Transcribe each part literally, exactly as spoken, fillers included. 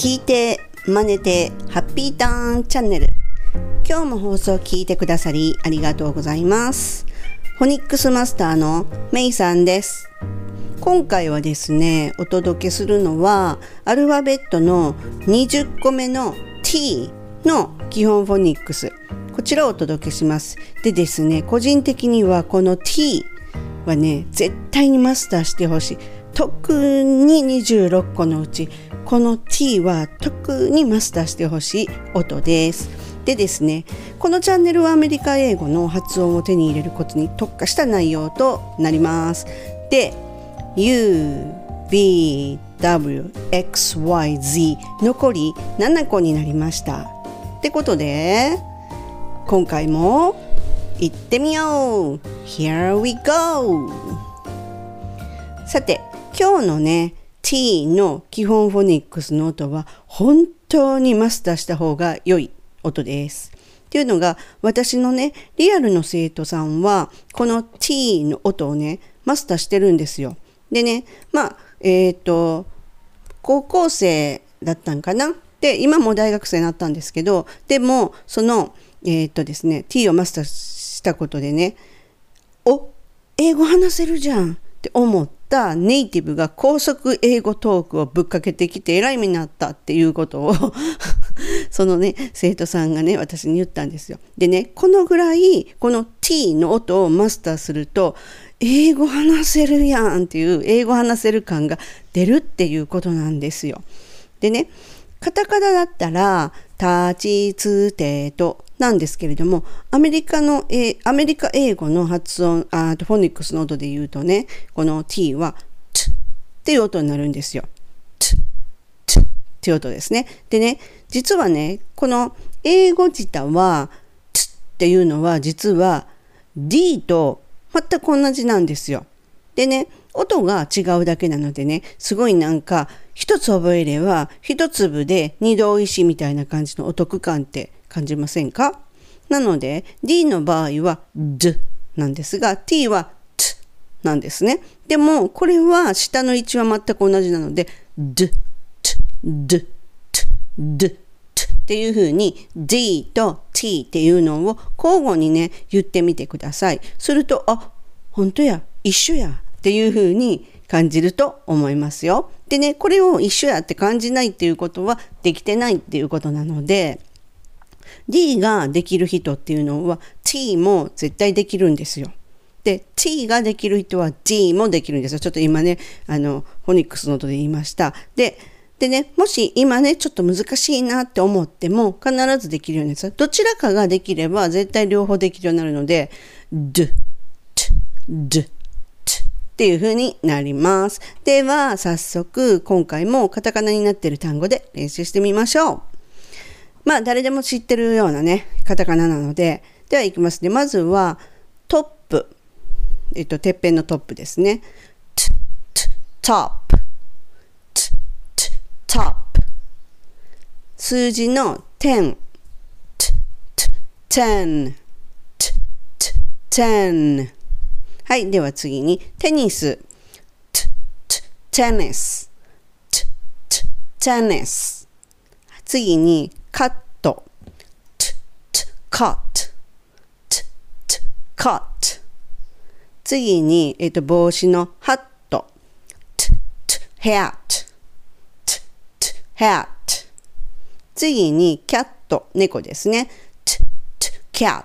聞いて真似てハッピーターンチャンネル。今日も放送聞いてくださりありがとうございます。フォニックスマスターのメイさんです。今回はですね、お届けするのはアルファベットのにじゅっこめの T の基本フォニックス、こちらをお届けします。でですね、個人的にはこの T はね、絶対にマスターしてほしい。特ににじゅうろっこのうちこの T は特にマスターしてほしい音です。でですね、このチャンネルはアメリカ英語の発音を手に入れることに特化した内容となります。で、U、V、W、X、Y、Z 残りななこになりました。ってことで今回も行ってみよう。 Here we go。 さて、今日のね T の基本フォニックスの音は本当にマスターした方が良い音です。っていうのが、私のねリアルの生徒さんはこの T の音をねマスターしてるんですよ。でね、まあえっと高校生だったんかな。で、今もう大学生になったんですけど、でもそのえっとですね T をマスターしたことでね、お、英語話せるじゃんって思ったネイティブが高速英語トークをぶっかけてきてえらい目になったっていうことをそのね生徒さんがね私に言ったんですよ。でね、このぐらいこの T の音をマスターすると英語話せるやんっていう英語話せる感が出るっていうことなんですよ。でね、カタカナだったら立ちつてとなんですけれども、アメリカの、えー、アメリカ英語の発音、あとフォニックスの音で言うとね、この T は T っていう音になるんですよ。T、T っていう音ですね。でね、実はね、この英語自体は T っていうのは実は D と全く同じなんですよ。でね、音が違うだけなのでね、すごいなんか一つ覚えれば一粒で二度おいしいみたいな感じのお得感って感じませんか？なので D の場合は D なんですが T は T なんですね。でもこれは下の位置は全く同じなので D、T、D、T、D、T っていう風に D と T っていうのを交互にね言ってみてください。すると、あ、本当や、一緒やっていう風に感じると思いますよ。でね、これを一緒やって感じないっていうことはできてないっていうことなので、D ができる人っていうのは T も絶対できるんですよ。で、T ができる人は D もできるんですよ。ちょっと今ね、あの、フォニックスの音で言いました。で、でね、もし今ね、ちょっと難しいなって思っても必ずできるようになる。どちらかができれば絶対両方できるようになるので、D、T、D、Tっていう風になります。では、早速今回もカタカナになっている単語で練習してみましょう。まあ誰でも知ってるようなねカタカナなので、ではいきますね。まずはトップ、えっとてっぺんのトップですね。t t top t t top 数字のじゅう t t ten t t ten。 はい、では次にテニス t t tennis t t tennis。 次にカット t t cut t t cut。 次に、えっと、帽子のハット t t hat t t hat。 次にキャット、猫ですね。 t t cat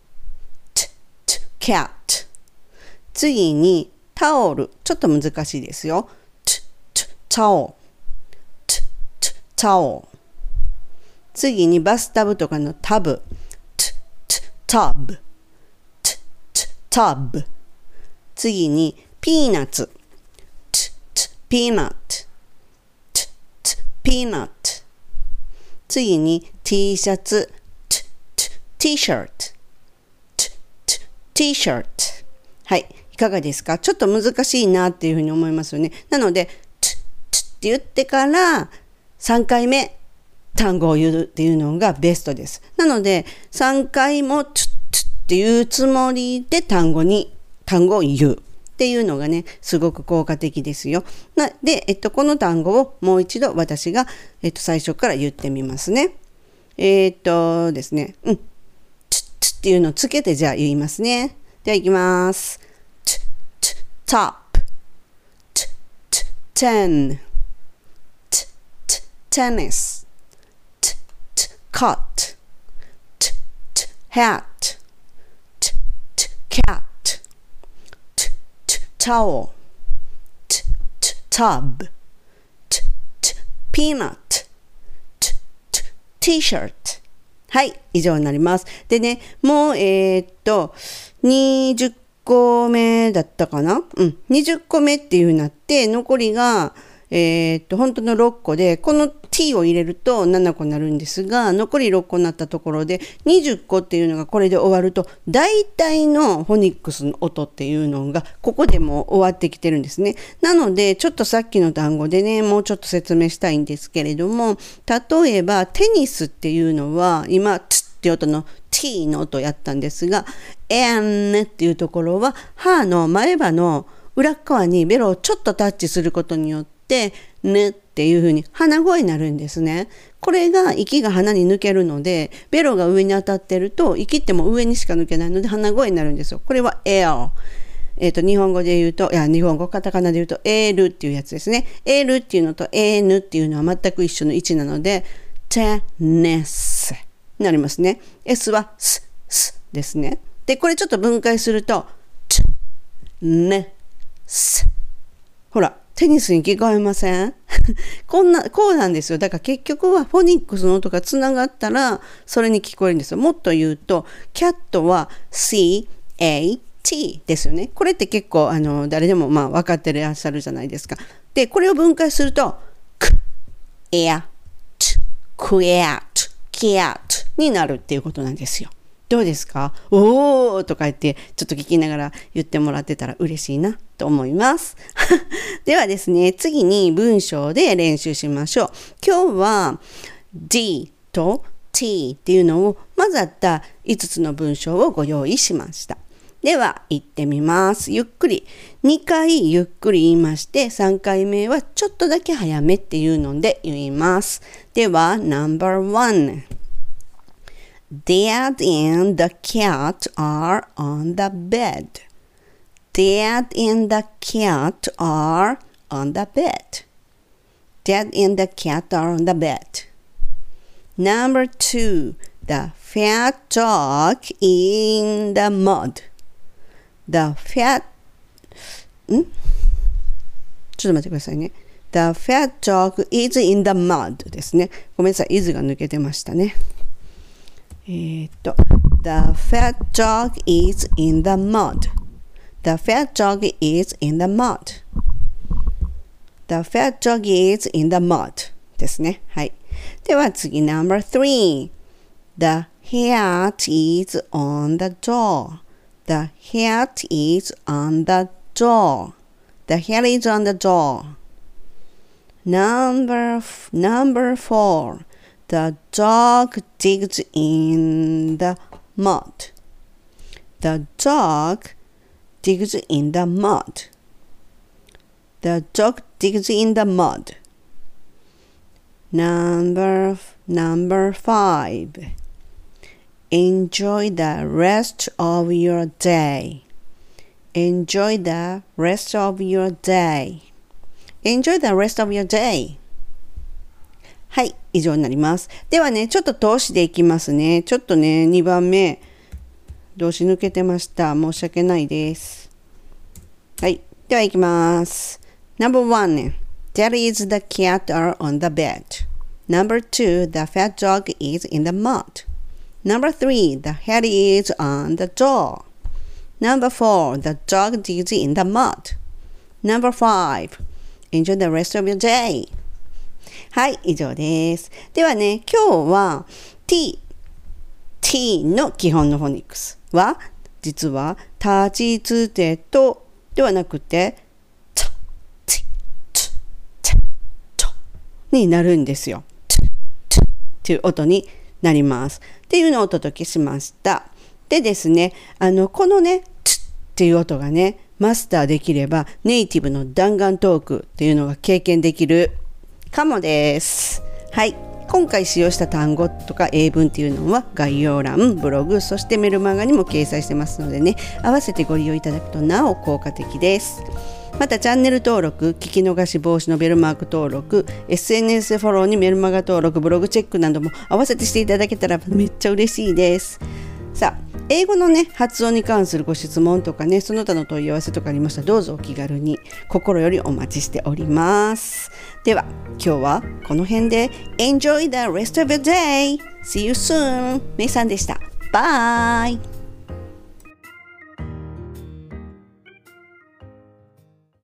t t cat。 次にタオル、ちょっと難しいですよ。 t t towel t t towel。次にバスタブとかのタブ t t tub t t tub。 次にピーナッツ t t peanut t t peanut。 次に T シャツ t t t-shirt t t t-shirt。 はい、いかがですか？ちょっと難しいなっていうふうに思いますよね。なので t t って言ってからさんかいめ単語を言うっていうのがベストです。なのでさんかいも t t っていうつもりで単語に単語を言うっっていうのがね、すごく効果的ですよ。なで、えっと、この単語をもう一度私が、えっと、最初から言ってみますね。えー、っとですね、うん、つつっていうのをつけてじゃあ言いますね。では行きます。つつ top つつ ten つつ tennis つつ cut つつ hat つつ cat つつ towel つつ tub つつ peanut T-shirt。はい、以上になります。でね、もう、えー、っと、にじゅっこめだったかな？うん、にじゅっこめっていう風になって、残りが、えー、っと、本当のろっこで、この t を入れるとななこになるんですが、残りろっこになったところで、にじゅっこっていうのがこれで終わると、大体のフォニックスの音っていうのが、ここでもう終わってきてるんですね。なので、ちょっとさっきの単語でね、もうちょっと説明したいんですけれども、例えば、テニスっていうのは、今、つって音の t の音やったんですが、n っていうところは、歯の前歯の裏側にベロをちょっとタッチすることによって、で、ぬっていう風に鼻声になるんですね。これが息が鼻に抜けるので、ベロが上に当たってると、息っても上にしか抜けないので鼻声になるんですよ。これは L。えっと、日本語で言うと、いや、日本語、カタカナで言うと L っていうやつですね。L っていうのと N っていうのは全く一緒の位置なので、テネスになりますね。S はス、スですね。で、これちょっと分解すると、チ、ネ、ス。ほら。テニスに聞こえません？こんな、こうなんですよ。だから結局はフォニックスの音がつながったら、それに聞こえるんですよ。もっと言うと、キャットは シーエーティー ですよね。これって結構、あの、誰でもまあ分かってらっしゃるじゃないですか。で、これを分解すると、ク、エア、ト、クエアト、キアトになるっていうことなんですよ。どうですか？おーとか言ってちょっと聞きながら言ってもらってたら嬉しいなと思います。ではですね、次に文章で練習しましょう。今日は D と T っていうのを混ざったいつつの文章をご用意しました。では言ってみます。ゆっくりにかいゆっくり言いまして、さんかいめはちょっとだけ早めっていうので言います。では ナンバーワン。Dad and the cat are on the bed. Dad and the cat are on the bed. Dad and the cat are on the bed. Number two, the fat dog in the mud. The fat, ん?ちょっと待ってくださいね。The fat dog is in the mud ですね。ごめんなさい、is が抜けてましたね。えー、っと、The fat dog is in the mud. The fat dog is in the mud. The fat dog is in the mud ですね。はい。では次、ナンバースリー。The hat is on the door. The hat is on the door. The hat is on the door. Number, number four.The dog digs in the mud. The dog digs in the mud. The dog digs in the mud. Number, number five. Enjoy the rest of your day. Enjoy the rest of your day. Enjoy the rest of your day.はい、以上になります。ではね、ちょっと通しでいきますね。ちょっとね、にばんめ、動詞抜けてました。申し訳ないです。はい、ではいきます。Number one, That is the cat are on the bed. Number two, the fat dog is in the mud. Number three, the hat is on the door. Number four, the dog digs in the mud. Number five, enjoy the rest of your day.はい、以上です。ではね、今日は t、t の基本のフォニックスは、実は、立ちつてとではなくて、と、ち、つ、ち、とになるんですよ。と、とっていう音になります。っていうのをお届けしました。でですね、あの、このね、つっていう音がね、 マスターできればネイティブの弾丸トークっていうのが経験できるかもです。はい、今回使用した単語とか英文っていうのは概要欄、ブログ、そしてメルマガにも掲載してますのでね、合わせてご利用いただくとなお効果的です。またチャンネル登録、聞き逃し防止のベルマーク登録、エスエヌエス フォローにメルマガ登録、ブログチェックなども合わせてしていただけたらめっちゃ嬉しいです。さあ、英語のね発音に関するご質問とかね、その他の問い合わせとかありましたらどうぞお気軽に、心よりお待ちしております。では今日はこの辺で Enjoy the rest of your day! See you soon! めいさんでした。バイ